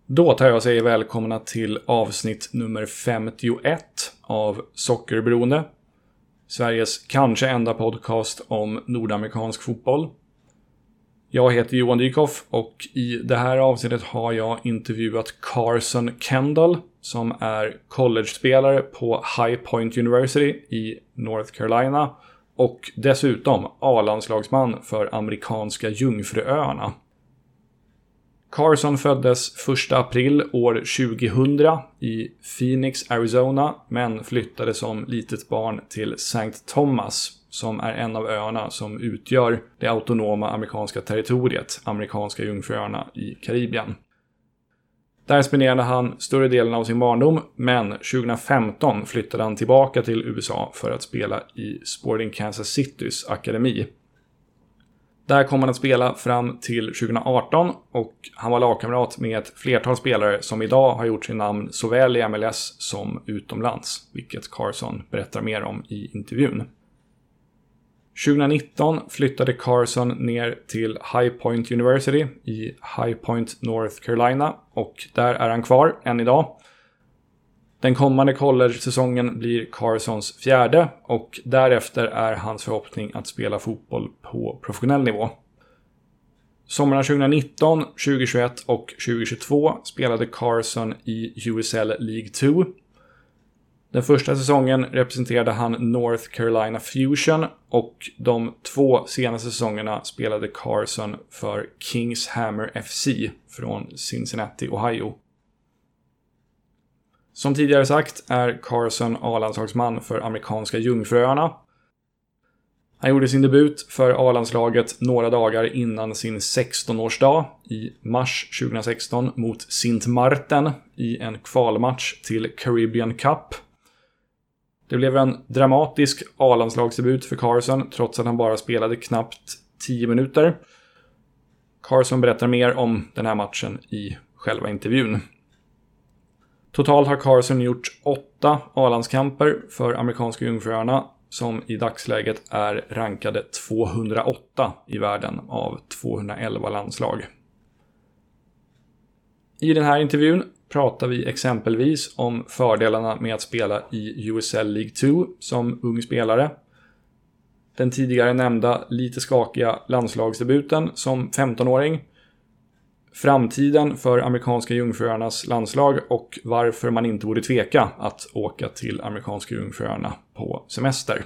Då tar jag och säger välkomna till avsnitt nummer 51 av Sockerberoende. Sveriges kanske enda podcast om nordamerikansk fotboll. Jag heter Johan Dykhoff och i det här avsnittet har jag intervjuat Carson Kendall som är college-spelare på High Point University i North Carolina och dessutom A-landslagsman för amerikanska Jungfruöarna. Carson föddes 1 april år 2000 i Phoenix, Arizona, men flyttade som litet barn till St. Thomas, som är en av öarna som utgör det autonoma amerikanska territoriet, amerikanska Jungfruöarna i Karibien. Där spenderade han större delen av sin barndom, men 2015 flyttade han tillbaka till USA för att spela i Sporting Kansas Citys akademi. Där kom han att spela fram till 2018 och han var lagkamrat med ett flertal spelare som idag har gjort sin namn såväl i MLS som utomlands, vilket Carson berättar mer om i intervjun. 2019 flyttade Carson ner till High Point University i High Point, North Carolina och där är han kvar än idag. Den kommande college-säsongen blir Carsons fjärde och därefter är hans förhoppning att spela fotboll på professionell nivå. Sommarna 2019, 2021 och 2022 spelade Carson i USL League 2. Den första säsongen representerade han North Carolina Fusion och de 2 senaste säsongerna spelade Carson för Kings Hammer FC från Cincinnati, Ohio. Som tidigare sagt är Carson A-landslagsman för amerikanska Jungfruöarna. Han gjorde sin debut för A-landslaget några dagar innan sin 16-årsdag i mars 2016 mot Sint Maarten i en kvalmatch till Caribbean Cup. Det blev en dramatisk A-landslagsdebut för Carson trots att han bara spelade knappt 10 minuter. Carson berättar mer om den här matchen i själva intervjun. Totalt har Carson gjort 8 A-landskamper för amerikanska Jungfruöarna som i dagsläget är rankade 208 i världen av 211 landslag. I den här intervjun pratar vi exempelvis om fördelarna med att spela i USL League 2 som ung spelare. Den tidigare nämnda lite skakiga landslagsdebuten som 15-åring. Framtiden för amerikanska Jungfruöarnas landslag och varför man inte borde tveka att åka till amerikanska Jungfruöarna på semester.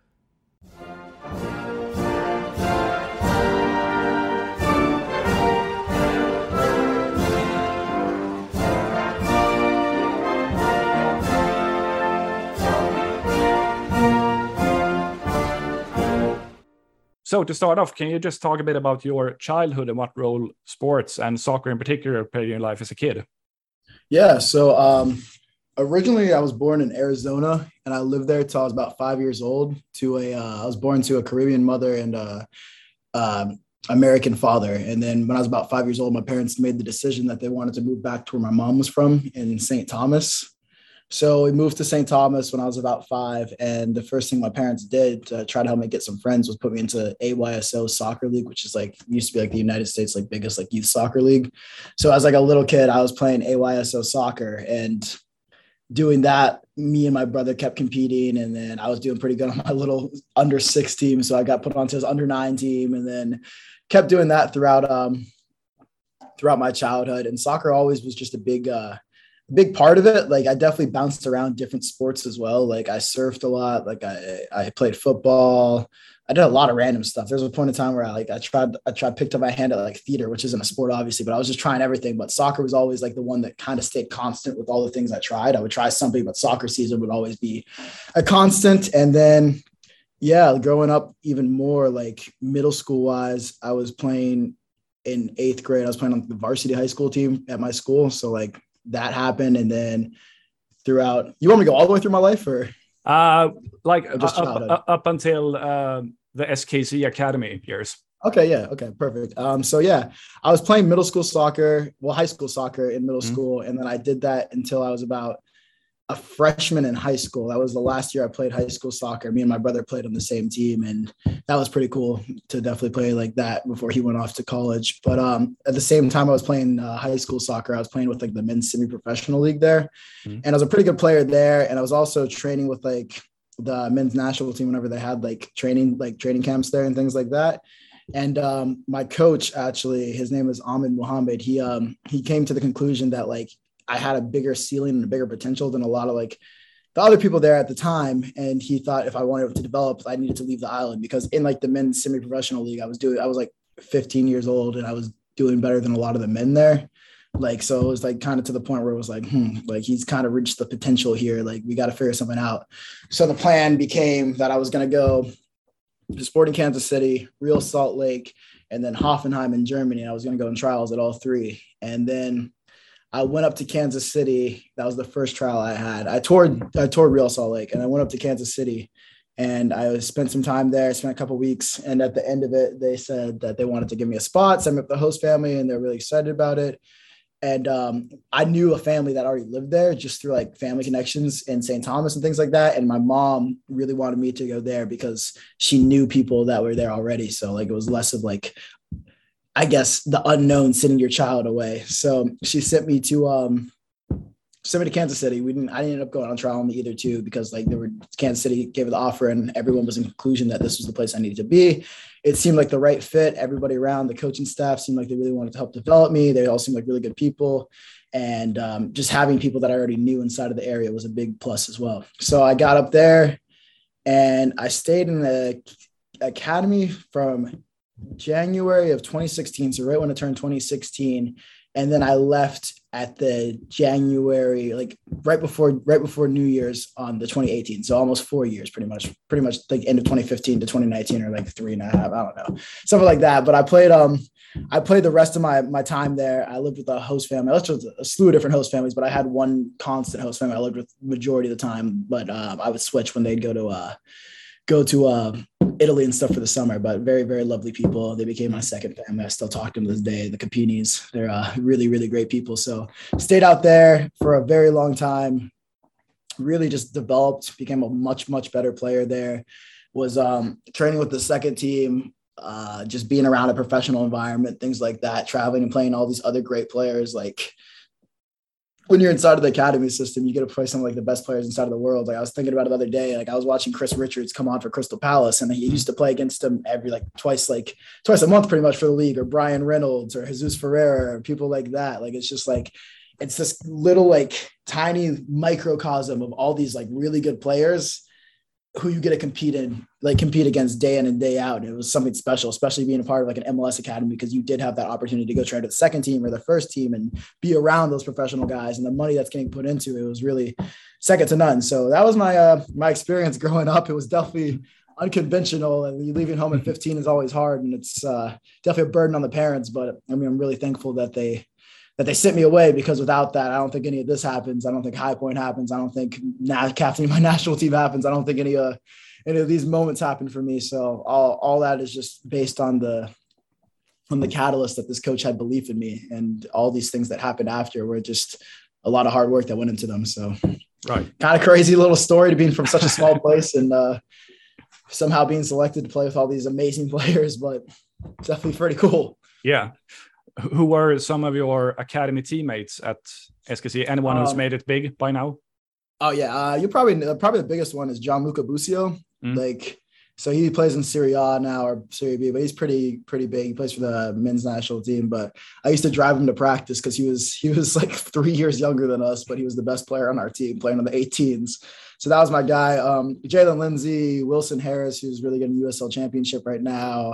So to start off, can you just talk a bit about your childhood and what role sports and soccer in particular played in your life as a kid? Yeah, so originally I was born in Arizona and I lived there till I was about 5 years old. I was born to a Caribbean mother and American father. And then when I was about 5 years old, my parents made the decision that they wanted to move back to where my mom was from in St. Thomas. So we moved to St. Thomas when I was about 5. And the first thing my parents did to try to help me get some friends was put me into AYSO Soccer League, which is used to be the United States biggest youth soccer league. So as a little kid, I was playing AYSO soccer and doing that. Me and my brother kept competing. And then I was doing pretty good on my little under 6 team. So I got put onto his under 9 team and then kept doing that throughout my childhood. And soccer always was just a big part of it. I definitely bounced around different sports as well. I surfed a lot. I played football. I did a lot of random stuff. There's a point in time where I picked up my hand at theater, which isn't a sport obviously, but I was just trying everything. But soccer was always the one that kind of stayed constant with all the things I tried. I would try something, but soccer season would always be a constant. And then, yeah, growing up even more middle school wise, I was playing in 8th grade. I was playing on the varsity high school team at my school. So that happened. And then throughout, you want me to go all the way through my life or just up until the SKC Academy years? Okay. Yeah. Okay. Perfect. So yeah, I was playing high school soccer in middle school. And then I did that until I was about a freshman in high school. That was the last year I played high school soccer. Me and my brother played on the same team, and that was pretty cool to definitely play like that before he went off to college. But at the same time I was playing high school soccer, I was playing with like the men's semi-professional league there. And I was a pretty good player there. And I was also training with like the men's national team whenever they had like training camps there and things like that. And my coach, actually, his name is Ahmed Muhammad. He came to the conclusion that like I had a bigger ceiling and a bigger potential than a lot of like the other people there at the time. And he thought if I wanted to develop, I needed to leave the island, because in like the men's semi-professional league, I was like 15 years old and I was doing better than a lot of the men there. Like, so it was like kind of to the point where it was like, like he's kind of reached the potential here. Like we got to figure something out. So the plan became that I was going to go to Sporting Kansas City, Real Salt Lake, and then Hoffenheim in Germany. I was going to go in trials at all three. And then I went up to Kansas City. That was the first trial I had. I toured Real Salt Lake, and I went up to Kansas City, and I spent some time there, spent a couple of weeks. And at the end of it, they said that they wanted to give me a spot, send me up the host family, and they're really excited about it. And I knew a family that already lived there just through like family connections in St. Thomas and things like that. And my mom really wanted me to go there because she knew people that were there already. So like, it was less of like, I guess, the unknown sending your child away. So she sent me to Kansas City. I didn't end up going on trial on either two, because like Kansas City gave the offer and everyone was in conclusion that this was the place I needed to be. It seemed like the right fit. Everybody around the coaching staff seemed like they really wanted to help develop me. They all seemed like really good people. And just having people that I already knew inside of the area was a big plus as well. So I got up there and I stayed in the academy from January of 2016. So right when I turned 2016. And then I left at the January, like right before New Year's on the 2018. So almost 4 years, pretty much like end of 2015 to 2019, or like 3.5, I don't know, something like that. But I played the rest of my time there. I lived with a host family. I lived with a slew of different host families, but I had one constant host family I lived with majority of the time. But I would switch when they'd go to Italy and stuff for the summer. But very, very lovely people. They became my second family. I still talk to them to this day. The Capinis, they're really, really great people. So stayed out there for a very long time. Really just developed, became a much, much better player there. Was training with the second team, just being around a professional environment, things like that, traveling and playing all these other great players. Like, when you're inside of the academy system, you get to play some of like the best players inside of the world. Like I was thinking about it the other day, like I was watching Chris Richards come on for Crystal Palace, and he used to play against him every twice a month pretty much for the league, or Brian Reynolds or Jesus Ferreira or people like that. Like, it's just like, it's this little like tiny microcosm of all these like really good players who you get to compete against day in and day out. And it was something special, especially being a part of like an MLS academy, because you did have that opportunity to go train to the second team or the first team and be around those professional guys, and the money that's getting put into it was really second to none. So that was my experience growing up. It was definitely unconventional, and leaving home at 15 is always hard, and it's definitely a burden on the parents. But I mean, I'm really thankful that they sent me away, because without that, I don't think any of this happens. I don't think High Point happens. I don't think captaining my national team happens. I don't think any of these moments happen for me. So all that is just based on the catalyst that this coach had belief in me, and all these things that happened after were just a lot of hard work that went into them. So right, kind of crazy little story to being from such a small place and somehow being selected to play with all these amazing players, but definitely pretty cool. Yeah. Who were some of your academy teammates at SKC? Anyone who's made it big by now? Oh yeah, you're probably the biggest one is Gianluca Busio. So he plays in Serie A now, or Serie B, but he's pretty big. He plays for the men's national team. But I used to drive him to practice because he was like 3 years younger than us, but he was the best player on our team, playing on the 18s. So that was my guy. Jalen Lindsay, Wilson Harris, who's really good in USL Championship right now.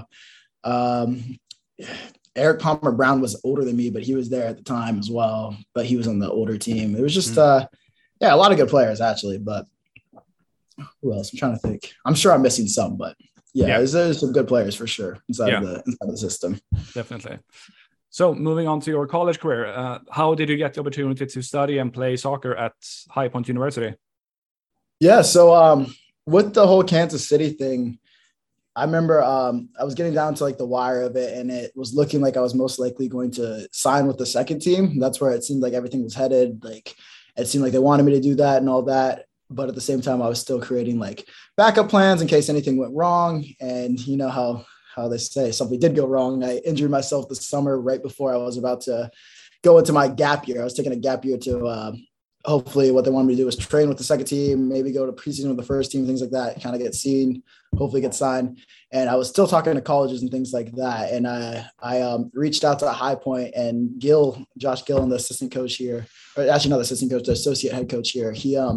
Eric Palmer Brown was older than me, but he was there at the time as well. But he was on the older team. It was just, a lot of good players actually. But who else? I'm trying to think. I'm sure I'm missing some, but there's some good players for sure inside of the system. Definitely. So moving on to your college career, how did you get the opportunity to study and play soccer at High Point University? Yeah, so with the whole Kansas City thing, I remember I was getting down to like the wire of it, and it was looking like I was most likely going to sign with the second team. That's where it seemed like everything was headed. it seemed like they wanted me to do that and all that. But at the same time, I was still creating like backup plans in case anything went wrong. And you know how they say something did go wrong. I injured myself this summer right before I was about to go into my gap year. I was taking a gap year to hopefully what they wanted me to do was train with the second team, maybe go to preseason with the first team, things like that, kind of get seen, hopefully get signed. And I was still talking to colleges and things like that. And I reached out to High Point, and Josh Gillen, the assistant coach here, or actually not the assistant coach, the associate head coach here.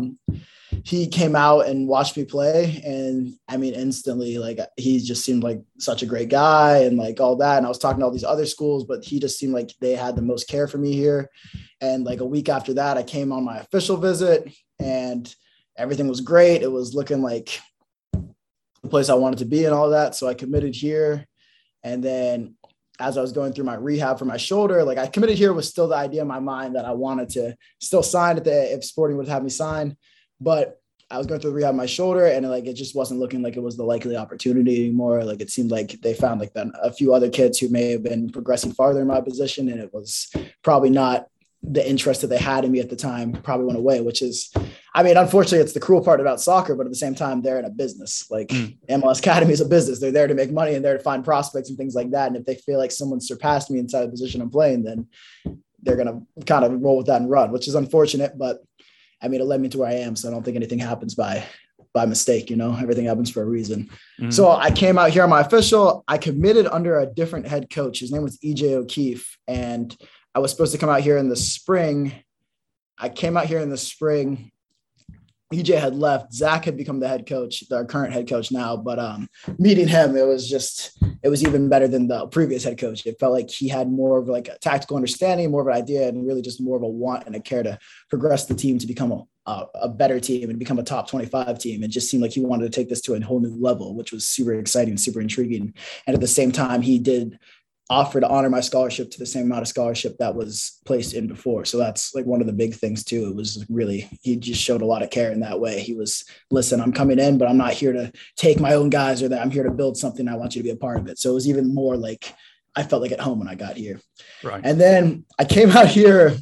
He came out and watched me play. And I mean, instantly, like, he just seemed like such a great guy and like all that. And I was talking to all these other schools, but he just seemed like they had the most care for me here. And like a week after that, I came on my official visit and everything was great. It was looking like the place I wanted to be and all that. So I committed here. And then as I was going through my rehab for my shoulder, like I committed here was still the idea in my mind that I wanted to still sign if Sporting would have me sign. But I was going through the rehab of my shoulder, and like it just wasn't looking like it was the likely opportunity anymore. Like it seemed like they found like a few other kids who may have been progressing farther in my position, and it was probably not the interest that they had in me at the time. Probably went away, which is, I mean, unfortunately, it's the cruel part about soccer, but at the same time, they're in a business. Like MLS Academy is a business. They're there to make money and there to find prospects and things like that. And if they feel like someone surpassed me inside the position I'm playing, then they're going to kind of roll with that and run, which is unfortunate, but I mean, it led me to where I am. So I don't think anything happens by mistake, you know, everything happens for a reason. Mm-hmm. So I came out here on my official, I committed under a different head coach. His name was EJ O'Keefe. And I was supposed to come out here in the spring. I came out here in the spring. EJ had left. Zach had become the head coach, our current head coach now. But meeting him, it was even better than the previous head coach. It felt like he had more of like a tactical understanding, more of an idea, and really just more of a want and a care to progress the team to become a better team and become a top 25 team. It just seemed like he wanted to take this to a whole new level, which was super exciting, super intriguing. And at the same time, he did offer to honor my scholarship to the same amount of scholarship that was placed in before. So that's like one of the big things too. It was really, he just showed a lot of care in that way. He was, listen, I'm coming in, but I'm not here to take my own guys, or that I'm here to build something. I want you to be a part of it. So it was even more like, I felt like at home when I got here. Right. And then I came out here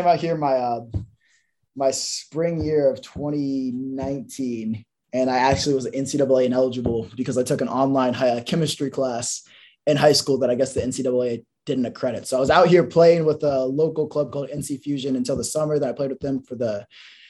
my spring year of 2019. And I actually was NCAA ineligible because I took an online chemistry class in high school that I guess the NCAA didn't accredit. So I was out here playing with a local club called NC Fusion until the summer. Then I played with them for the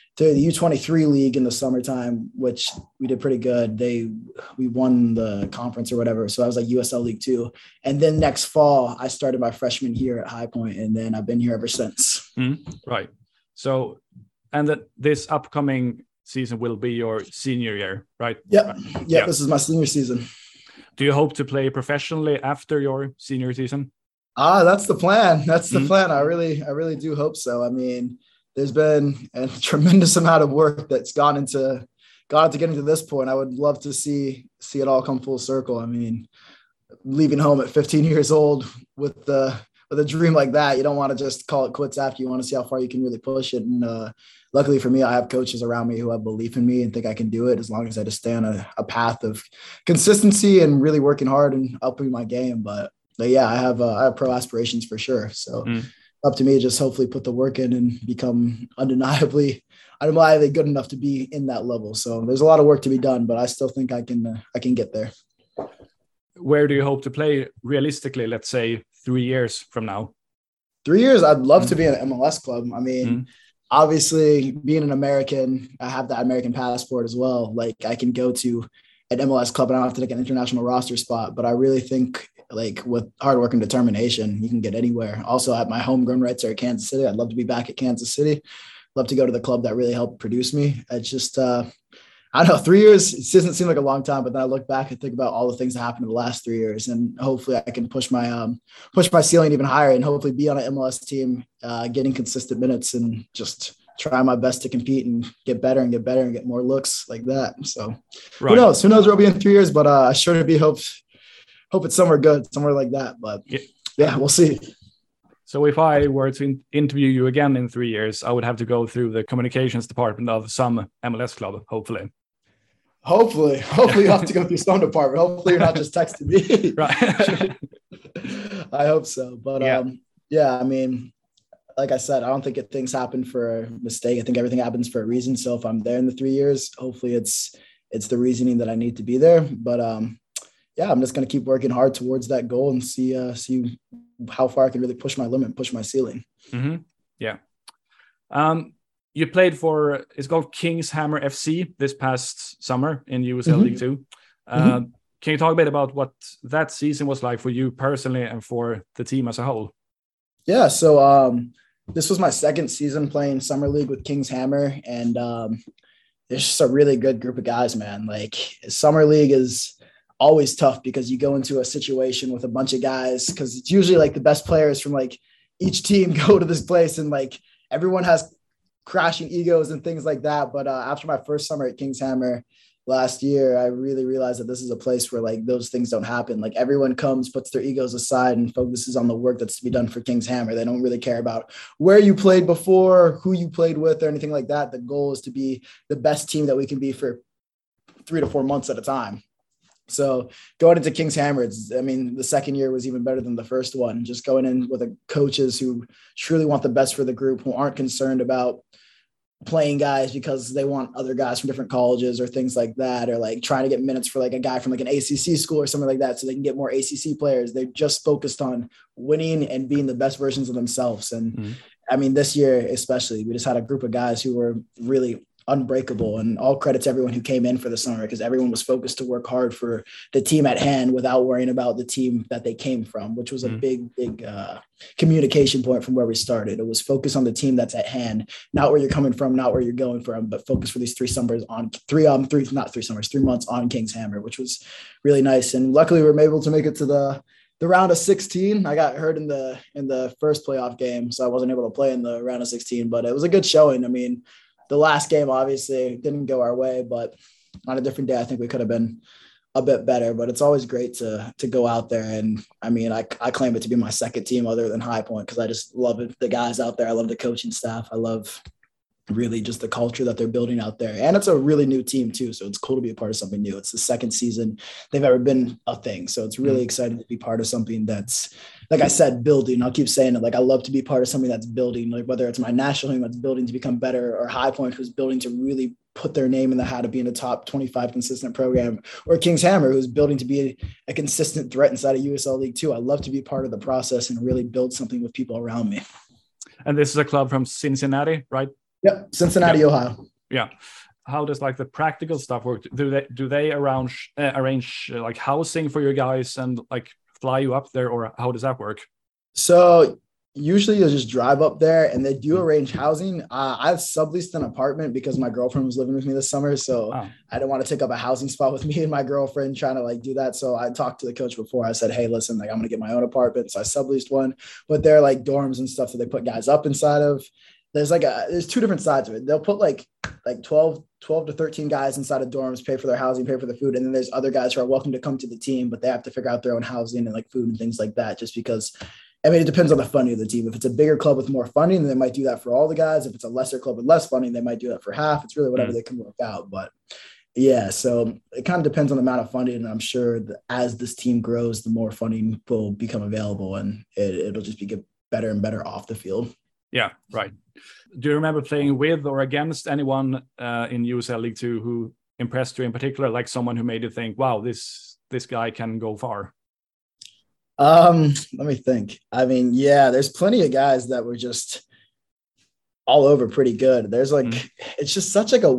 U23 league in the summertime, which we did pretty good. We won the conference or whatever. So I was like USL League 2. And then next fall, I started my freshman year at High Point, and then I've been here ever since. Right. So, and that this upcoming season will be your senior year, right? Yep. Right. Yeah, this is my senior season. Do you hope to play professionally after your senior season? That's the plan. That's the plan. I really do hope so. I mean, there's been a tremendous amount of work that's gone into getting to this point. I would love to see it all come full circle. I mean, leaving home at 15 years old with a dream like that, you don't want to just call it quits after. You want to see how far you can really push it. And luckily for me, I have coaches around me who have belief in me and think I can do it, as long as I just stay on a path of consistency and really working hard and upping my game. But yeah, I have pro aspirations for sure. So up to me to just hopefully put the work in and become undeniably good enough to be in that level. So there's a lot of work to be done, but I still think I can get there. Where do you hope to play realistically, let's say 3 years from now? 3 years, I'd love to be in an MLS club. I mean, obviously being an American, I have that American passport as well. Like I can go to an MLS club and I don't have to take an international roster spot, but I really think like with hard work and determination, you can get anywhere. Also at my homegrown rights are at Kansas City. I'd love to be back at Kansas City. Love to go to the club that really helped produce me. It's just, I don't know, 3 years, it doesn't seem like a long time, but then I look back and think about all the things that happened in the last 3 years, and hopefully I can push my ceiling even higher and hopefully be on an MLS team, getting consistent minutes and just try my best to compete and get better and get more looks like that. So Who knows where I'll be in 3 years, but I sure to be hope it's somewhere good, somewhere like that. But yeah, we'll see. So if I were to interview you again in 3 years, I would have to go through the communications department of some MLS club, hopefully. Hopefully you have to go through some department. Hopefully you're not just texting me. Right. I hope so. But yeah, I mean, like I said, I don't think things happen for a mistake. I think everything happens for a reason. So if I'm there in the 3 years, hopefully it's the reasoning that I need to be there. But yeah, I'm just going to keep working hard towards that goal and see how far I can really push my limit, push my ceiling. Mm-hmm. Yeah. You played for, it's called Kings Hammer FC this past summer in USL League 2. Can you talk a bit about what that season was like for you personally and for the team as a whole? Yeah, so this was my second season playing Summer League with Kings Hammer, and there's just a really good group of guys, man. Like Summer League is always tough because you go into a situation with a bunch of guys, because it's usually like the best players from like each team go to this place, and like everyone has crashing egos and things like that. But after my first summer at Kings Hammer last year, I really realized that this is a place where like those things don't happen. Like everyone comes, puts their egos aside and focuses on the work that's to be done for Kings Hammer. They don't really care about where you played before, who you played with, or anything like that. The goal is to be the best team that we can be for 3 to 4 months at a time. So going into Kings Hammer, the second year was even better than the first one. Just going in with coaches who truly want the best for the group, who aren't concerned about playing guys because they want other guys from different colleges or things like that, or like trying to get minutes for like a guy from like an ACC school or something like that so they can get more ACC players. They're just focused on winning and being the best versions of themselves. And this year especially, we just had a group of guys who were really unbreakable, and all credit to everyone who came in for the summer, because everyone was focused to work hard for the team at hand without worrying about the team that they came from, which was a big communication point from where we started. It was focus on the team that's at hand, not where you're coming from, not where you're going from, but focus for these 3 months on Kings Hammer, which was really nice. And luckily we were able to make it to the round of 16. I got hurt in the first playoff game, so I wasn't able to play in the round of 16, but it was a good showing. I mean, the last game obviously didn't go our way, but on a different day, I think we could have been a bit better. But it's always great to go out there. And I claim it to be my second team other than High Point, because I just love it, the guys out there. I love the coaching staff. I love really just the culture that they're building out there. And it's a really new team too. So it's cool to be a part of something new. It's the second season they've ever been a thing. So it's really exciting to be part of something that's, like I said, building. I'll keep saying it. Like I love to be part of something that's building, like whether it's my national team that's building to become better, or High Point who's building to really put their name in the hat of being a top 25 consistent program, or Kings Hammer who's building to be a consistent threat inside of USL League 2. I love to be part of the process and really build something with people around me. And this is a club from Cincinnati, right? Yep, Cincinnati, Ohio. Yeah. How does like the practical stuff work? Do they arrange like housing for your guys and like fly you up there, or how does that work? So usually you'll just drive up there, and they do arrange housing. I've subleased an apartment because my girlfriend was living with me this summer, so I didn't want to take up a housing spot with me and my girlfriend trying to like do that. So I talked to the coach before. I said, hey, listen, like I'm gonna get my own apartment. So I subleased one, but they're like dorms and stuff that they put guys up inside of. There's 2 different sides of it. They'll put like 12 to 13 guys inside of dorms, pay for their housing, pay for their food. And then there's other guys who are welcome to come to the team, but they have to figure out their own housing and like food and things like that, just because, it depends on the funding of the team. If it's a bigger club with more funding, then they might do that for all the guys. If it's a lesser club with less funding, they might do that for half. It's really whatever they can work out. But yeah, so it kind of depends on the amount of funding. And I'm sure that as this team grows, the more funding will become available, and it'll just get better and better off the field. Yeah, right. Do you remember playing with or against anyone in USL League 2 who impressed you in particular, like someone who made you think, wow, this guy can go far? Let me think. There's plenty of guys that were just all over pretty good. There's it's just such like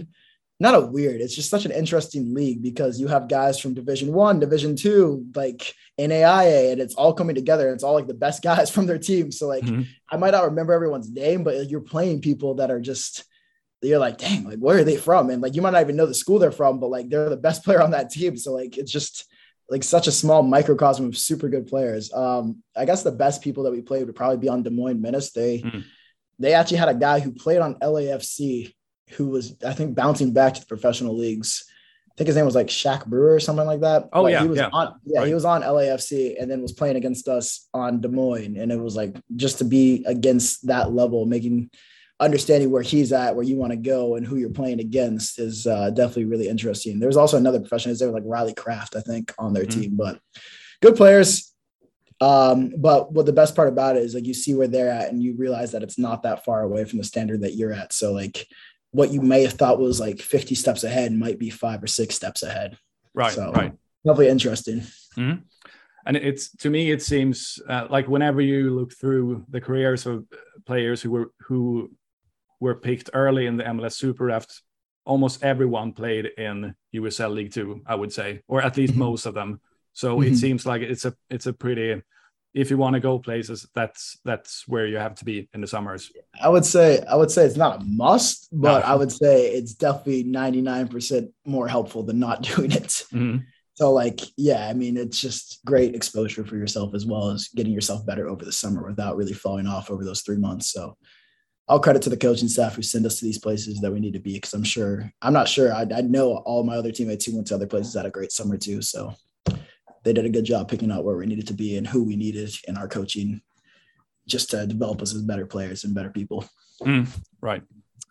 it's just such an interesting league, because you have guys from Division 1, Division 2, like NAIA, and it's all coming together. It's all like the best guys from their team. So like I might not remember everyone's name, but you're playing people that are just, you're like, dang, like where are they from? And like you might not even know the school they're from, but like they're the best player on that team. So like it's just like such a small microcosm of super good players. I guess the best people that we played would probably be on Des Moines Menace. They actually had a guy who played on LAFC who was, I think, bouncing back to the professional leagues. I think his name was like Shaq Brewer or something like that. Oh, he was on LAFC and then was playing against us on Des Moines. And it was like, just to be against that level, understanding where he's at, where you want to go and who you're playing against is definitely really interesting. There's also another professional there, like Riley Kraft, I think, on their team, but good players. But what the best part about it is like you see where they're at and you realize that it's not that far away from the standard that you're at. So like what you may have thought was like 50 steps ahead might be 5 or 6 steps ahead. Right. So right. definitely interesting. Mm-hmm. And it's, to me, it seems like whenever you look through the careers of players who were picked early in the MLS Super Draft, almost everyone played in USL League Two, I would say, or at least most of them. So it seems like it's a pretty, if you want to go places, that's where you have to be in the summers. I would say it's not a must, but No. I would say it's definitely 99% more helpful than not doing it. Mm-hmm. So like, yeah, I mean, it's just great exposure for yourself as well as getting yourself better over the summer without really falling off over those 3 months. So I'll credit to the coaching staff who send us to these places that we need to be, because I'm not sure. I know all my other teammates who went to other places had a great summer too. So they did a good job picking out where we needed to be and who we needed in our coaching just to develop us as better players and better people. Right.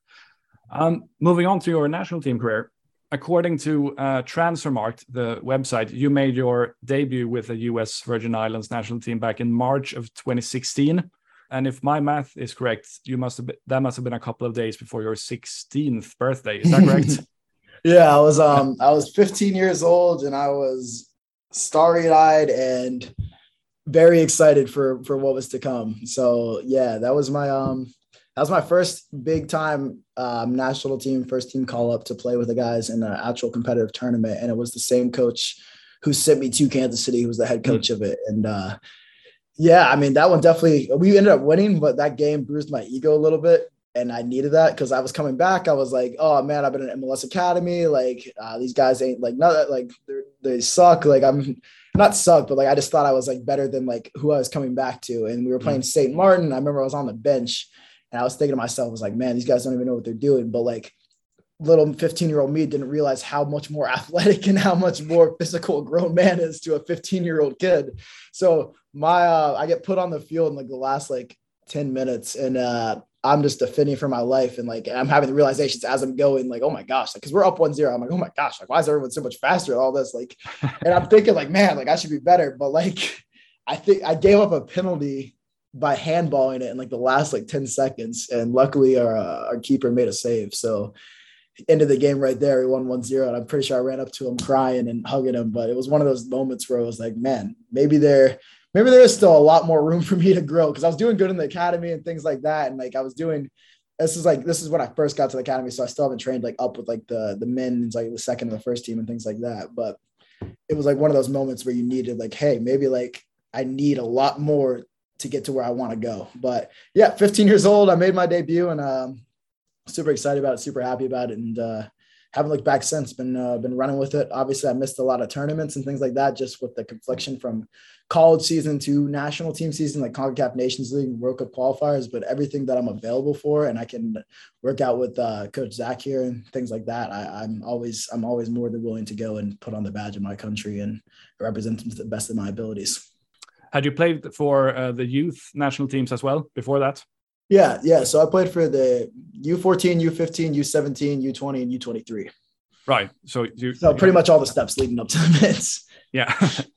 Moving on to your national team career. According to Transfermarkt, the website, you made your debut with the US Virgin Islands national team back in March of 2016. And if my math is correct, that must have been a couple of days before your 16th birthday. Is that correct? Yeah, I was 15 years old and I was starry-eyed and very excited for what was to come. So yeah, that was my first big time national team, first team call up to play with the guys in an actual competitive tournament. And it was the same coach who sent me to Kansas City, who was the head coach of it. And yeah, I mean, that one definitely, we ended up winning, but that game bruised my ego a little bit. And I needed that because I was coming back. I was like, oh man, I've been in MLS Academy. Like these guys ain't like, not like they suck. Like I'm not suck, but like, I just thought I was like better than like who I was coming back to. And we were playing St. Martin. I remember I was on the bench and I was thinking to myself, I was like, man, these guys don't even know what they're doing. But like little 15-year-old me didn't realize how much more athletic and how much more physical a grown man is to a 15-year-old kid. So I get put on the field in like the last like 10 minutes and I'm just defending for my life. And like, I'm having the realizations as I'm going like, oh my gosh, like, cause we're up 1-0. I'm like, oh my gosh, like why is everyone so much faster at all this? Like, and I'm thinking like, man, like I should be better. But like, I think I gave up a penalty by handballing it in like the last like 10 seconds. And luckily our keeper made a save. So ended the game right there. We won 1-0. And I'm pretty sure I ran up to him crying and hugging him. But it was one of those moments where I was like, man, maybe there is still a lot more room for me to grow. Cause I was doing good in the academy and things like that. And like, this is when I first got to the academy. So I still haven't trained like up with like the men and like the second and the first team and things like that. But it was like one of those moments where you needed like, hey, maybe like I need a lot more to get to where I want to go. But yeah, 15 years old, I made my debut and super excited about it, super happy about it. And haven't looked back since. Been running with it. Obviously, I missed a lot of tournaments and things like that, just with the confliction from college season to national team season, like CONCACAF Nations League, World Cup qualifiers. But everything that I'm available for, and I can work out with Coach Zach here and things like that. I'm always more than willing to go and put on the badge of my country and represent them to the best of my abilities. Had you played for the youth national teams as well before that? Yeah. So I played for the U14, U15, U17, U20, and U23. Right. So pretty much all the steps leading up to the mids. Yeah.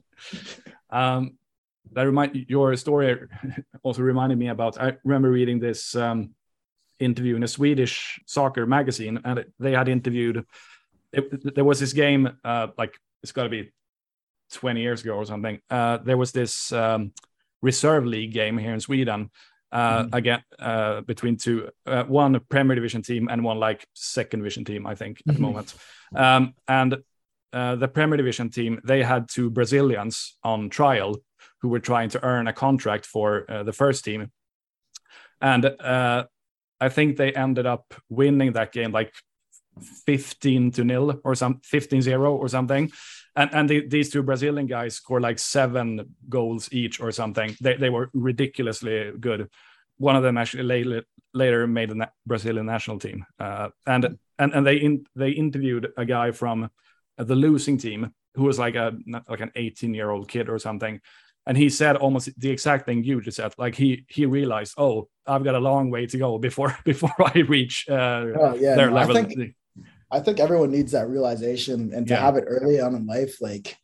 Your story also reminded me about, I remember reading this interview in a Swedish soccer magazine, and they had interviewed, there was this game, like it's got to be 20 years ago or something. There was this reserve league game here in Sweden. Again, between two, one Premier Division team and one like second division team, I think, at the moment. And the Premier Division team, they had 2 Brazilians on trial who were trying to earn a contract for the first team. And I think they ended up winning that game like 15-0 or 15-0 or something. And these 2 Brazilian guys scored like 7 goals each or something. They were ridiculously good. One of them actually later made a Brazilian national team. And they interviewed a guy from the losing team who was like an 18-year-old kid or something. And he said almost the exact thing you just said. Like he realized, oh, I've got a long way to go before I reach their level. I think everyone needs that realization and to have it early on in life. Like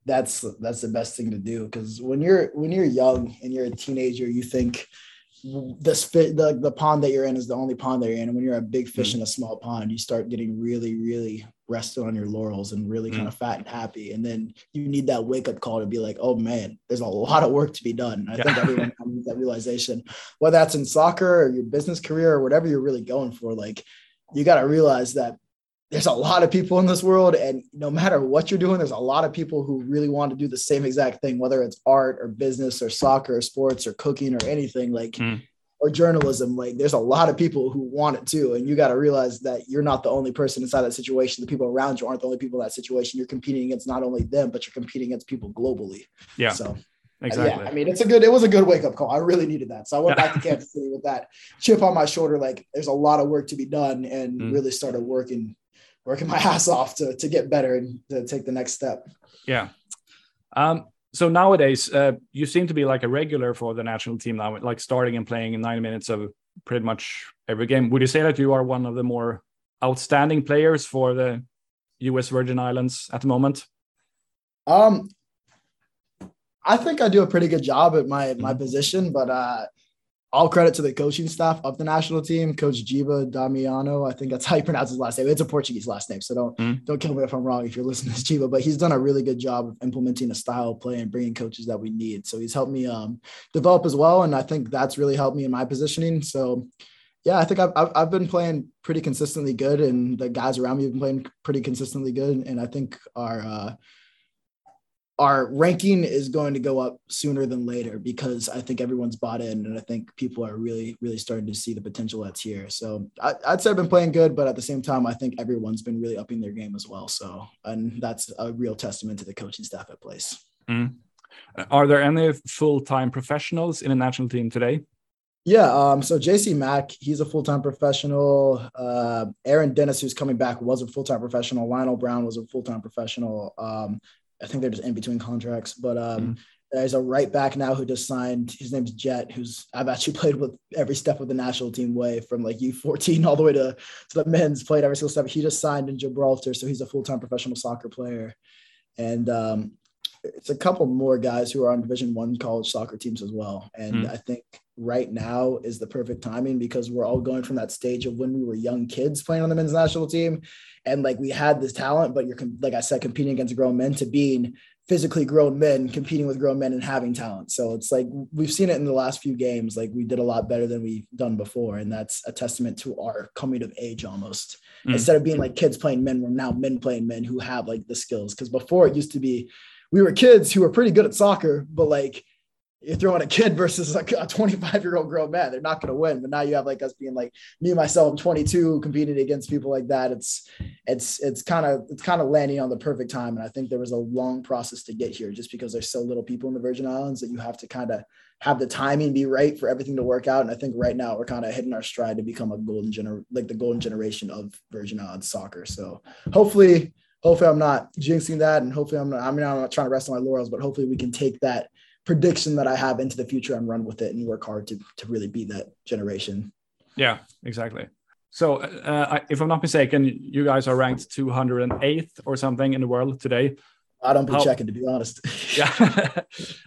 that's the best thing to do, because when you're young and you're a teenager, you think the pond that you're in is the only pond that you're in, and when you're a big fish in a small pond, you start getting really, really rested on your laurels and really kind of fat and happy, and then you need that wake up call to be like, oh man, there's a lot of work to be done. I think everyone comes with that realization, whether that's in soccer or your business career or whatever you're really going for. Like, you got to realize that there's a lot of people in this world, and no matter what you're doing, there's a lot of people who really want to do the same exact thing, whether it's art or business or soccer or sports or cooking or anything, like, or journalism. Like, there's a lot of people who want it too. And you got to realize that you're not the only person inside that situation. The people around you aren't the only people in that situation. You're competing against not only them, but you're competing against people globally. Yeah. So exactly. Yeah, I mean, it was a good wake up call. I really needed that. So I went back to Kansas City with that chip on my shoulder. Like, there's a lot of work to be done, and really started working my ass off to get better and to take the next step. Yeah. So nowadays, you seem to be like a regular for the national team now, like starting and playing in 90 minutes of pretty much every game. Would you say that you are one of the more outstanding players for the US Virgin Islands at the moment? I think I do a pretty good job at my position, but all credit to the coaching staff of the national team, Coach Giba Damiano. I think that's how you pronounce his last name. It's a Portuguese last name, so don't kill me if I'm wrong if you're listening to Giba. But he's done a really good job of implementing a style of play and bringing coaches that we need. So he's helped me develop as well, and I think that's really helped me in my positioning. So yeah, I think I've been playing pretty consistently good, and the guys around me have been playing pretty consistently good. And I think our ranking is going to go up sooner than later, because I think everyone's bought in, and I think people are really, really starting to see the potential that's here. So I'd say I've been playing good, but at the same time, I think everyone's been really upping their game as well. So, and that's a real testament to the coaching staff at Place. Are there any full-time professionals in the national team today? Yeah. So JC Mack, he's a full-time professional. Aaron Dennis, who's coming back, was a full-time professional. Lionel Brown was a full-time professional. I think they're just in between contracts, but there's a right back now who just signed. His name's Jet, who's I've actually played with every step of the national team way, from like U14 all the way to the men's, played every single step. He just signed in Gibraltar, so he's a full-time professional soccer player. And it's a couple more guys who are on Division I college soccer teams as well. And I think right now is the perfect timing, because we're all going from that stage of when we were young kids playing on the men's national team, and like we had this talent, but you're, like I said, competing against grown men, to being physically grown men competing with grown men and having talent. So it's like we've seen it in the last few games. Like, we did a lot better than we've done before, and that's a testament to our coming of age almost. Instead of being like kids playing men, we're now men playing men who have like the skills. Because before it used to be we were kids who were pretty good at soccer, but like you're throwing a kid versus like a 25-year-old grown man, they're not going to win. But now you have like us being like me, myself, I'm 22, competing against people like that. It's kind of landing on the perfect time. And I think there was a long process to get here, just because there's so little people in the Virgin Islands that you have to kind of have the timing be right for everything to work out. And I think right now we're kind of hitting our stride to become the golden generation of Virgin Islands soccer. So hopefully I'm not jinxing that. And hopefully I'm not trying to rest on my laurels, but hopefully we can take that prediction that I have into the future and run with it and work hard to really be that generation. Yeah, exactly. So if I'm not mistaken, you guys are ranked 208th or something in the world today. I don't be checking, to be honest. Yeah.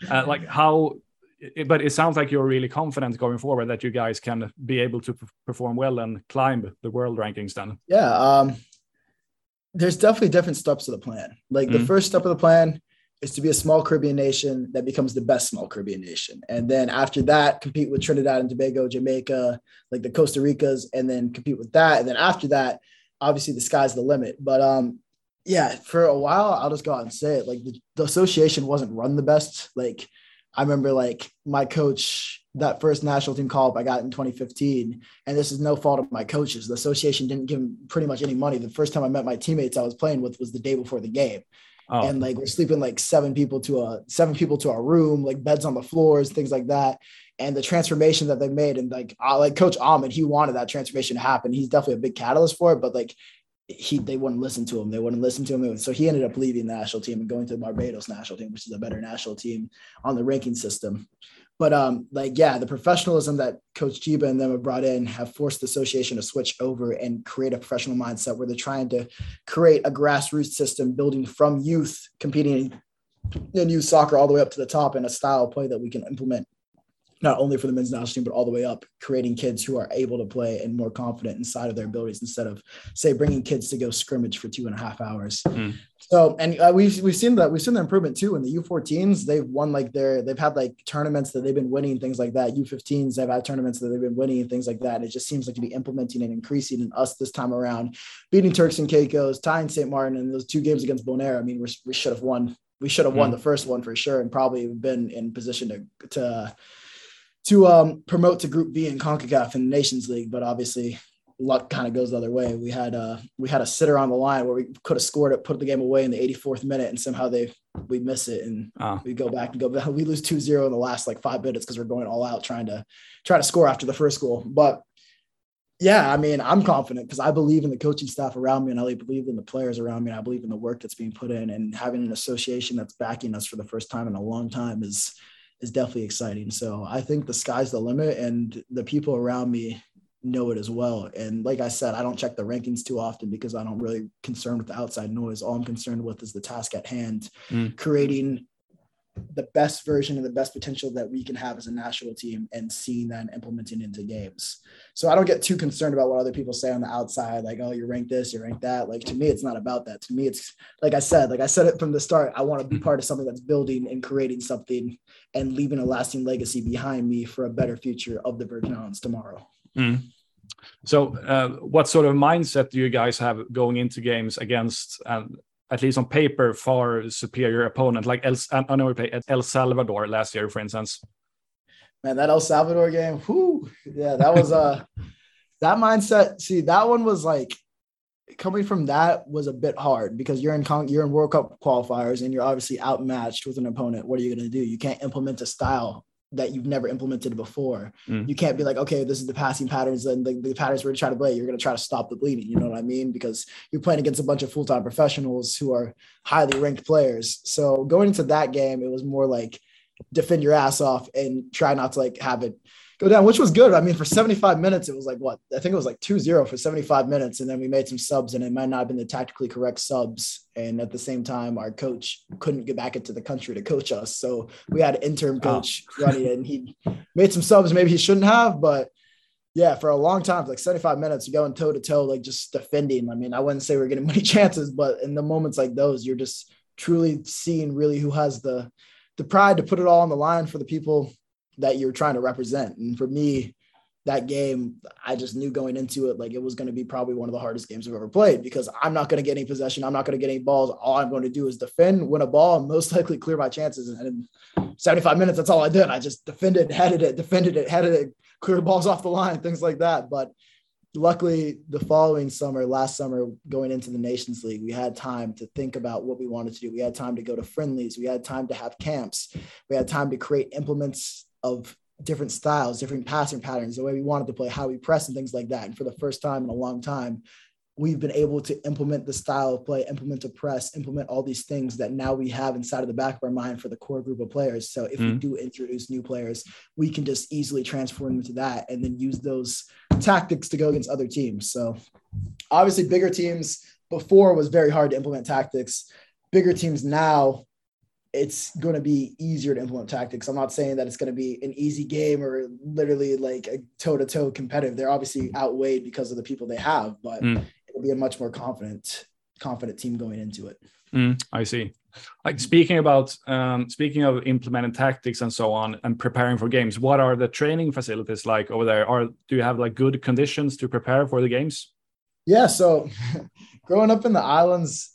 But it sounds like you're really confident going forward that you guys can be able to perform well and climb the world rankings then. Yeah. There's definitely different steps to the plan. Like the first step of the plan is to be a small Caribbean nation that becomes the best small Caribbean nation. And then after that, compete with Trinidad and Tobago, Jamaica, like the Costa Ricas, and then compete with that. And then after that, obviously the sky's the limit. But yeah, for a while, I'll just go out and say it. Like the association wasn't run the best. Like I remember like my coach, that first national team call up I got in 2015, and this is no fault of my coaches. The association didn't give him pretty much any money. The first time I met my teammates I was playing with was the day before the game. Oh. And like we're sleeping like seven people to our room, like beds on the floors, things like that. And the transformation that they made, and like Coach Ahmed, he wanted that transformation to happen. He's definitely a big catalyst for it, but like they wouldn't listen to him. They wouldn't listen to him. So he ended up leaving the national team and going to the Barbados national team, which is a better national team on the ranking system. But the professionalism that Coach Giba and them have brought in have forced the association to switch over and create a professional mindset where they're trying to create a grassroots system building from youth, competing and use soccer all the way up to the top in a style of play that we can implement not only for the men's national team, but all the way up, creating kids who are able to play and more confident inside of their abilities instead of, say, bringing kids to go scrimmage for 2.5 hours. So, and we've seen the improvement too in the U14s. They've won they've had like tournaments that they've been winning, things like that. U15s, they've had tournaments that they've been winning and things like that. And it just seems like to be implementing and increasing in us this time around, beating Turks and Caicos, tying St. Martin, and those 2 games against Bonaire. I mean, we should have won. We should have won the first one for sure, and probably been in position to promote to Group B in CONCACAF in the Nations League, but obviously luck kind of goes the other way. We had a sitter on the line where we could have scored it, put the game away in the 84th minute, and somehow we miss it, and we go back. We lose 2-0 in the last 5 minutes because we're going all out trying to score after the first goal. But yeah, I mean, I'm confident because I believe in the coaching staff around me, and I believe in the players around me. And I believe in the work that's being put in, and having an association that's backing us for the first time in a long time is definitely exciting. So I think the sky's the limit, and the people around me know it as well. And like I said, I don't check the rankings too often because I don't really concerned with the outside noise. All I'm concerned with is the task at hand, creating the best version and the best potential that we can have as a national team and seeing that and implementing into games. So I don't get too concerned about what other people say on the outside, like, oh, you rank this, you rank that. Like, to me, it's not about that. To me, it's like I said it from the start, I want to be part of something that's building and creating something and leaving a lasting legacy behind me for a better future of the Virgin Islands tomorrow. So what sort of mindset do you guys have going into games against, at least on paper, far superior opponent? Like I know we played El Salvador last year, for instance. Man, that El Salvador game, yeah, that was that mindset. See, that one was like, coming from that was a bit hard because you're in World Cup qualifiers and you're obviously outmatched with an opponent. What are you going to do? You can't implement a style that you've never implemented before. You can't be like, okay, this is the passing patterns and the patterns we're trying to play. You're going to try to stop the bleeding. You know what I mean? Because you're playing against a bunch of full-time professionals who are highly ranked players. So going into that game, it was more like defend your ass off and try not to have it go down, which was good. I mean, for 75 minutes, it was I think it was 2-0 for 75 minutes. And then we made some subs, and it might not have been the tactically correct subs. And at the same time, our coach couldn't get back into the country to coach us. So we had an interim coach running it, and he made some subs maybe he shouldn't have. But yeah, for a long time, 75 minutes, you're going toe to toe, just defending. I mean, I wouldn't say we're getting many chances, but in the moments like those, you're just truly seeing really who has the pride to put it all on the line for the people that you're trying to represent. And for me, that game, I just knew going into it, it was going to be probably one of the hardest games I've ever played because I'm not going to get any possession. I'm not going to get any balls. All I'm going to do is defend, win a ball, and most likely clear my chances. And in 75 minutes, that's all I did. I just defended, headed it, clear balls off the line, things like that. But luckily, the following summer, last summer, going into the Nations League, we had time to think about what we wanted to do. We had time to go to friendlies. We had time to have camps. We had time to create implements of different styles, different passing patterns, the way we wanted to play, how we press and things like that. And for the first time in a long time, we've been able to implement the style of play, implement a press, implement all these things that now we have inside of the back of our mind for the core group of players. So if we do introduce new players, we can just easily transform them to that and then use those tactics to go against other teams. So obviously bigger teams before was very hard to implement tactics. Bigger teams now, it's going to be easier to implement tactics. I'm not saying that it's going to be an easy game or literally a toe-to-toe competitive. They're obviously outweighed because of the people they have, but it'll be a much more confident team going into it. I see. Speaking of implementing tactics and so on and preparing for games, what are the training facilities like over there? Do you have good conditions to prepare for the games? Yeah. So growing up in the islands,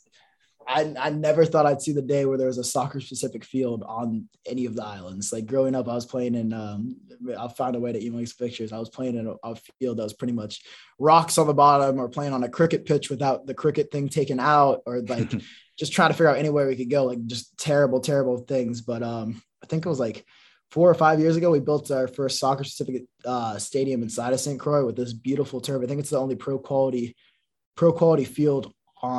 I never thought I'd see the day where there was a soccer-specific field on any of the islands. Growing up, I was playing in I'll find a way to email these pictures. I was playing in a field that was pretty much rocks on the bottom, or playing on a cricket pitch without the cricket thing taken out, or just trying to figure out anywhere we could go, just terrible things. But I think it was 4 or 5 years ago, we built our first soccer-specific stadium inside of St. Croix with this beautiful turf. I think it's the only pro quality field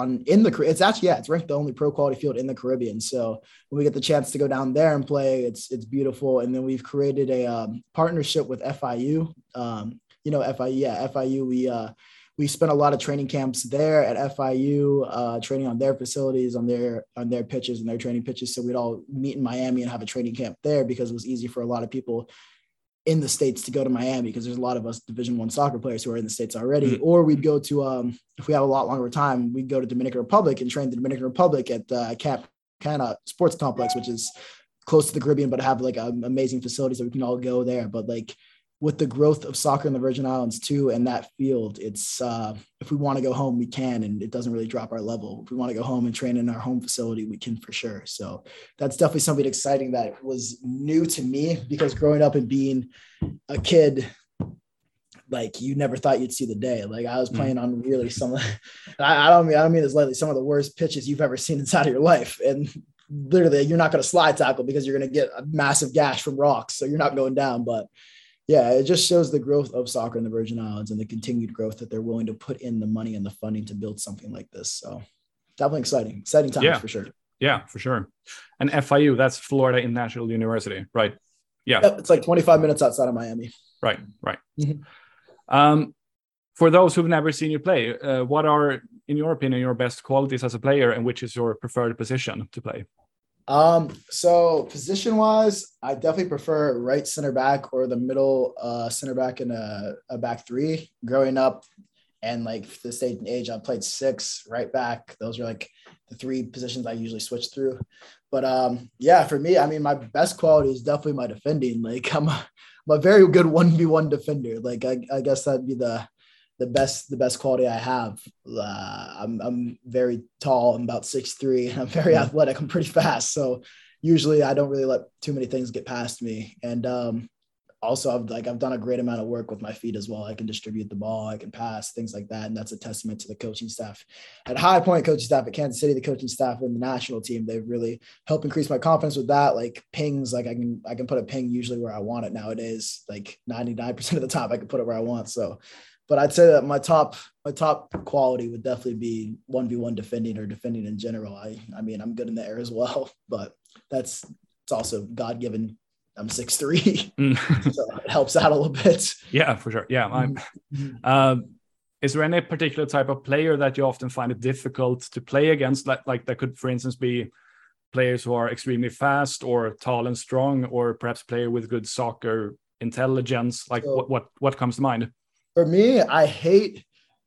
it's ranked the only pro quality field in the Caribbean. So when we get the chance to go down there and play, it's beautiful. And then we've created a partnership with FIU. FIU. we spent a lot of training camps there at FIU, training on their facilities, on their pitches and their training pitches. So we'd all meet in Miami and have a training camp there because it was easy for a lot of people in the States to go to Miami because there's a lot of us Division I soccer players who are in the States already. Or we'd go to, if we have a lot longer time, we'd go to Dominican Republic and train the Dominican Republic at Cap Cana Sports Complex, which is close to the Caribbean, but have like amazing facilities that we can all go there. But like with the growth of soccer in the Virgin Islands too, and that field, it's if we want to go home, we can, and it doesn't really drop our level. If we want to go home and train in our home facility, we can for sure. So that's definitely something exciting that was new to me because growing up and being a kid, like you never thought you'd see the day. Like I was playing on really some, I don't mean this lightly, some of the worst pitches you've ever seen inside of your life. And literally you're not going to slide tackle because you're going to get a massive gash from rocks. So you're not going down, but yeah, it just shows the growth of soccer in the Virgin Islands and the continued growth that they're willing to put in the money and the funding to build something like this. So definitely exciting times for sure. Yeah, for sure. And FIU, that's Florida International University, right? Yeah. Yep, it's like 25 minutes outside of Miami. Right. For those who've never seen you play, what are, in your opinion, your best qualities as a player and which is your preferred position to play? So position wise, I definitely prefer right center back or the middle center back in a back three. Growing up and like this stage and age, I played 6 right back. Those are like the 3 positions I usually switch through. But yeah, for me, I mean, my best quality is definitely my defending. Like I'm a very good 1v1 defender. Like I guess that'd be the best quality I have. I'm very tall. I'm about 6'3". I'm very athletic. I'm pretty fast. So usually I don't really let too many things get past me. And also I've done a great amount of work with my feet as well. I can distribute the ball, I can pass, things like that. And that's a testament to the coaching staff at High Point, coaching staff at Kansas City, the coaching staff and the national team. They've really helped increase my confidence with that. Like pings, like I can put a ping usually where I want it nowadays. Like 99% of the time I can put it where I want. So, but I'd say that my top quality would definitely be 1v1 defending or defending in general. I mean, I'm good in the air as well, but it's also God-given. I'm 6'3", so it helps out a little bit. Yeah, for sure. Yeah. Is there any particular type of player that you often find it difficult to play against? Like that could, for instance, be players who are extremely fast or tall and strong, or perhaps player with good soccer intelligence. Like so, what comes to mind? For me, I hate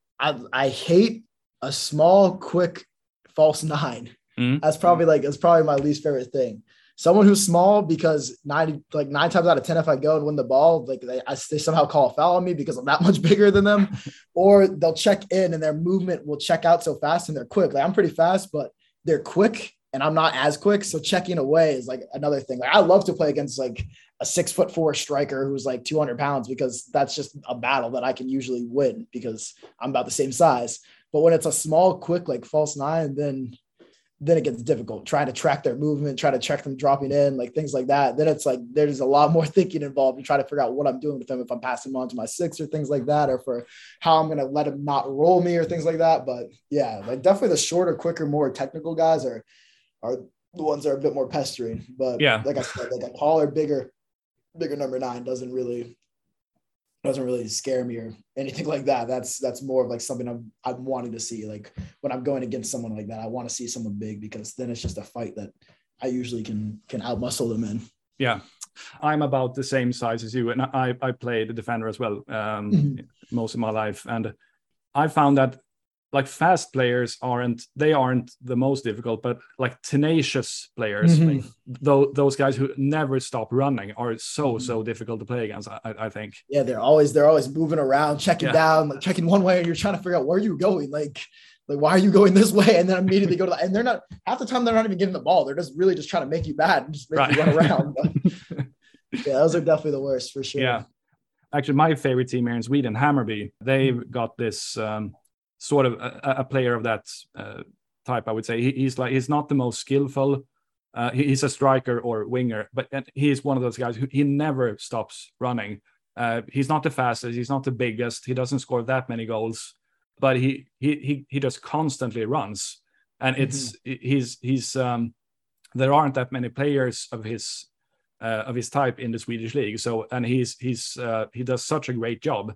a small, quick false 9. That's probably my least favorite thing. Someone who's small, because 9 times out of 10, if I go and win the ball, like they somehow call a foul on me because I'm that much bigger than them, or they'll check in and their movement will check out so fast and they're quick. Like I'm pretty fast, but they're quick and I'm not as quick. So checking away is like another thing. Like I love to play against like a 6'4" striker who's like 200 pounds, because that's just a battle that I can usually win because I'm about the same size. But when it's a small, quick, like false 9, then it gets difficult trying to track their movement, try to check them dropping in, like things like that. Then it's like, there's a lot more thinking involved and try to figure out what I'm doing with them. If I'm passing them on to my 6 or things like that, or for how I'm going to let them not roll me or things like that. But yeah, like definitely the shorter, quicker, more technical guys are the ones that are a bit more pestering. But yeah, like I said, like a taller, bigger number 9 doesn't really scare me or anything like that. That's more of like something I'm wanting to see. Like when I'm going against someone like that, I want to see someone big, because then it's just a fight that I usually can outmuscle them in. Yeah. I'm about the same size as you, and I played the defender as well most of my life. And I found that like fast players aren't the most difficult, but like tenacious players, like those guys who never stop running are so difficult to play against. I think. Yeah, they're always moving around, checking down, like checking one way, and you're trying to figure out where you're going. Like why are you going this way? And then immediately go to and they're not, half the time they're not even getting the ball. They're just really just trying to make you bad and just make you run around. But, yeah, those are definitely the worst for sure. Yeah, actually, my favorite team here in Sweden, Hammarby, they've got this. Sort of a player of that type, I would say. He's not the most skillful. He's a striker or winger, but he's one of those guys who he never stops running. He's not the fastest. He's not the biggest. He doesn't score that many goals, but he just constantly runs. And he's there aren't that many players of his type in the Swedish league. So, and he does such a great job.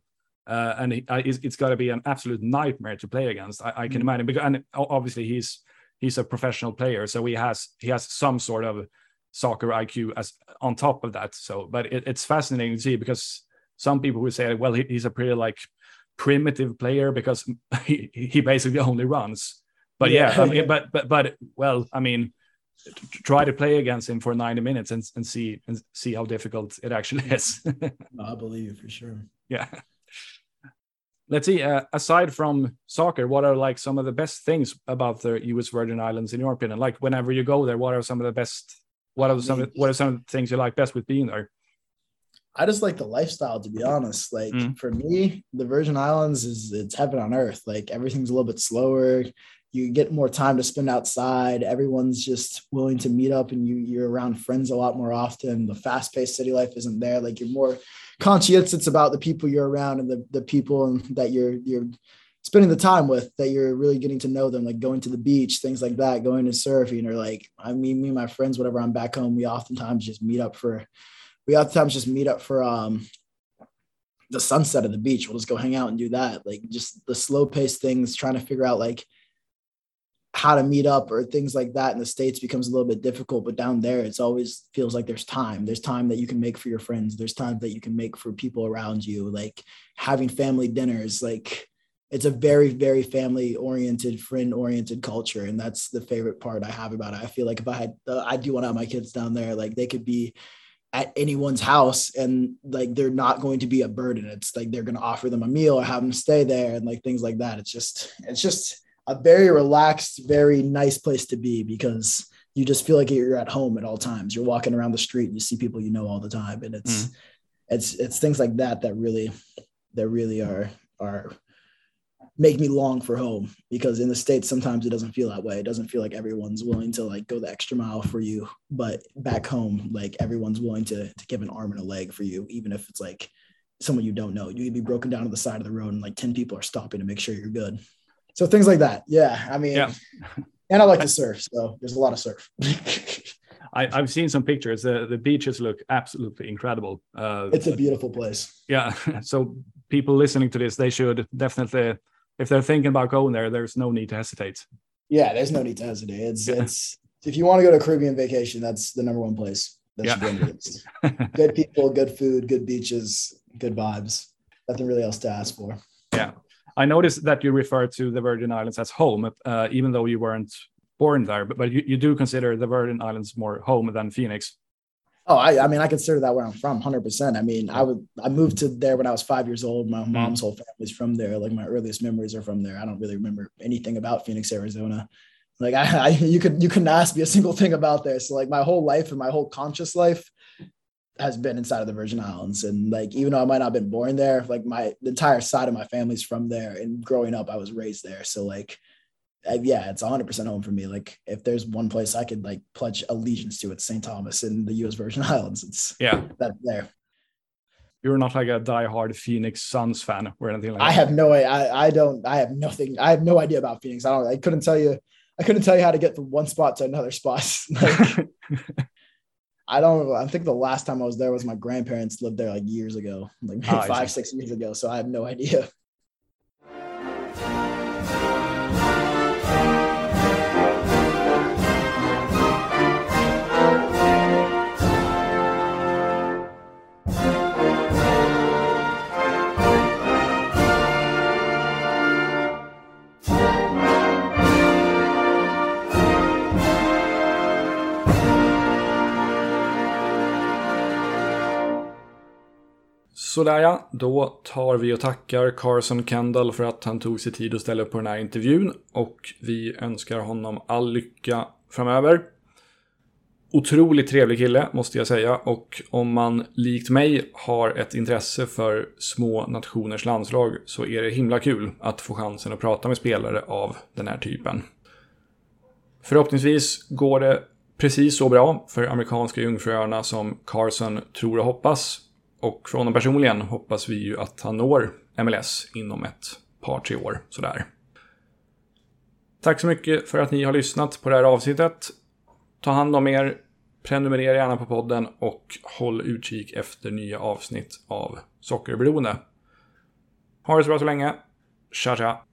It's got to be an absolute nightmare to play against. I can imagine, because and obviously he's a professional player, so he has some sort of soccer IQ as on top of that. So, but it's fascinating to see, because some people would say, well, he's a pretty like primitive player because he basically only runs. But I mean, but well, I mean, try to play against him for 90 minutes and see how difficult it actually is. I believe you for sure. Yeah. Let's see. Aside from soccer, what are like some of the best things about the U.S. Virgin Islands in your opinion? Like whenever you go there, what are some of the best? What are some of the things you like best with being there? I just like the lifestyle, to be honest. Like for me, the Virgin Islands it's heaven on earth. Like everything's a little bit slower. You get more time to spend outside. Everyone's just willing to meet up, and you're around friends a lot more often. The fast-paced city life isn't there. Like you're more conscientious about the people you're around and the people that you're spending the time with, that you're really getting to know them, like going to the beach, things like that, going to surfing, or like, I mean, me and my friends, whenever I'm back home, we oftentimes just meet up for the sunset of the beach. We'll just go hang out and do that. Like just the slow paced things, trying to figure out like how to meet up or things like that in the States becomes a little bit difficult, but down there, it's always feels like there's time that you can make for your friends. There's time that you can make for people around you, like having family dinners. Like it's a very, very family oriented, friend oriented culture. And that's the favorite part I have about it. I feel like if I do want to have my kids down there, like they could be at anyone's house and like they're not going to be a burden. It's like they're going to offer them a meal or have them stay there and like things like that. It's just a very relaxed, very nice place to be, because you just feel like you're at home at all times. You're walking around the street and you see people you know all the time, and it's things like that that really are make me long for home. Because in the States sometimes it doesn't feel that way. It doesn't feel like everyone's willing to like go the extra mile for you, but back home, like everyone's willing to give an arm and a leg for you, even if it's like someone you don't know. You can be broken down to the side of the road and like 10 people are stopping to make sure you're good. So things like that. Yeah. I mean, and I like to surf. So there's a lot of surf. I've seen some pictures. The beaches look absolutely incredible. It's a beautiful place. Yeah. So people listening to this, they should definitely, if they're thinking about going there, there's no need to hesitate. Yeah, there's no need to hesitate. It's if you want to go to a Caribbean vacation, that's the number one place. Good people, good food, good beaches, good vibes. Nothing really else to ask for. Yeah. I noticed that you refer to the Virgin Islands as home, even though you weren't born there, but you do consider the Virgin Islands more home than Phoenix. Oh, I mean, I consider that where I'm from, 100%. I mean, I moved to there when I was 5 years old. My mom's whole family's from there. Like my earliest memories are from there. I don't really remember anything about Phoenix, Arizona. Like you couldn't ask me a single thing about there. So like my whole life and my whole conscious life has been inside of the Virgin Islands. And like, even though I might not have been born there, like the entire side of my family's from there, and growing up, I was raised there. So like, it's 100% home for me. Like if there's one place I could like pledge allegiance to, it's St. Thomas in the U.S. Virgin Islands. It's that there. You're not like a diehard Phoenix Suns fan or anything like that. I have no way. I have nothing. I have no idea about Phoenix. I couldn't tell you how to get from one spot to another spot. Like, I think the last time I was there was my grandparents lived there like years ago, like maybe 5-6 years ago. So I have no idea. Sådär ja, då tar vi och tackar Carson Kendall för att han tog sig tid att ställa upp på den här intervjun, och vi önskar honom all lycka framöver. Otroligt trevlig kille måste jag säga, och om man likt mig har ett intresse för små nationers landslag så är det himla kul att få chansen att prata med spelare av den här typen. Förhoppningsvis går det precis så bra för amerikanska jungfruöarna som Carson tror och hoppas. Och för honom personligen hoppas vi ju att han når MLS inom ett par 3 år. Sådär. Tack så mycket för att ni har lyssnat på det här avsnittet. Ta hand om er, prenumerera gärna på podden och håll utkik efter nya avsnitt av Sockerberoende. Ha det så bra så länge. Tja tja!